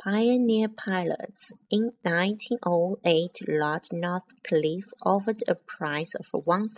Pioneer pilots in 1908 Lord Northcliffe offered a prize of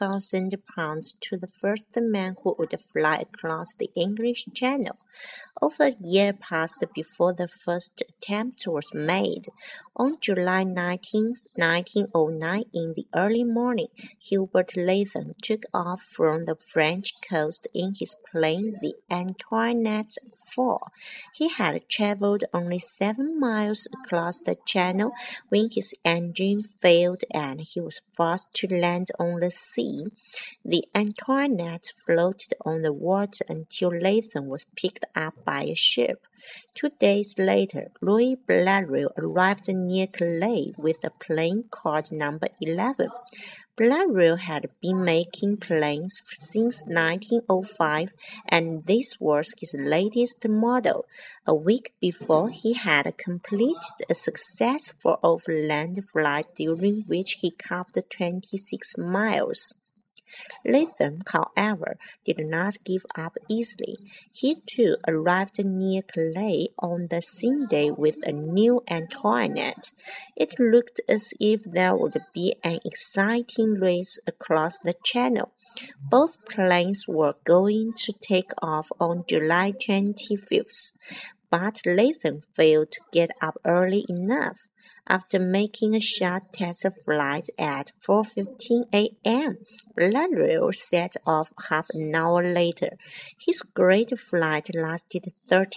£1,000 to the first man who would fly across the English Channel. Over a year passed before the first attempt was made. On July 19, 1909, in the early morning, Hubert Latham took off from the French coast in his plane, the Antoinette IV. He had travelled only 7 miles across the channel when his engine failed and he was forced to land on the sea. The Antoinette floated on the water until Latham was picked up by a ship. 2 days later, Louis Blériot arrived near Calais with a plane called No. 11. Blériot had been making planes since 1905, and this was his latest model. A week before, he had completed a successful overland flight during which he covered 26 miles. Latham, however, did not give up easily. He too arrived near Calais on the same day with a new Antoinette. It looked as if there would be an exciting race across the channel. Both planes were going to take off on July 25th, but Latham failed to get up early enough. After making a short test flight at 4:15 a.m., Blériot set off half an hour later. His great flight lasted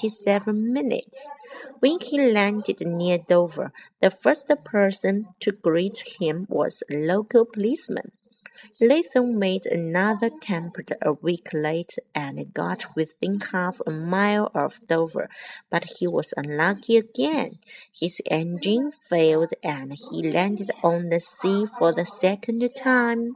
37 minutes. When he landed near Dover, the first person to greet him was a local policeman. Latham made another attempt a week later and got within half a mile of Dover, but he was unlucky again. His engine failed and he landed on the sea for the second time.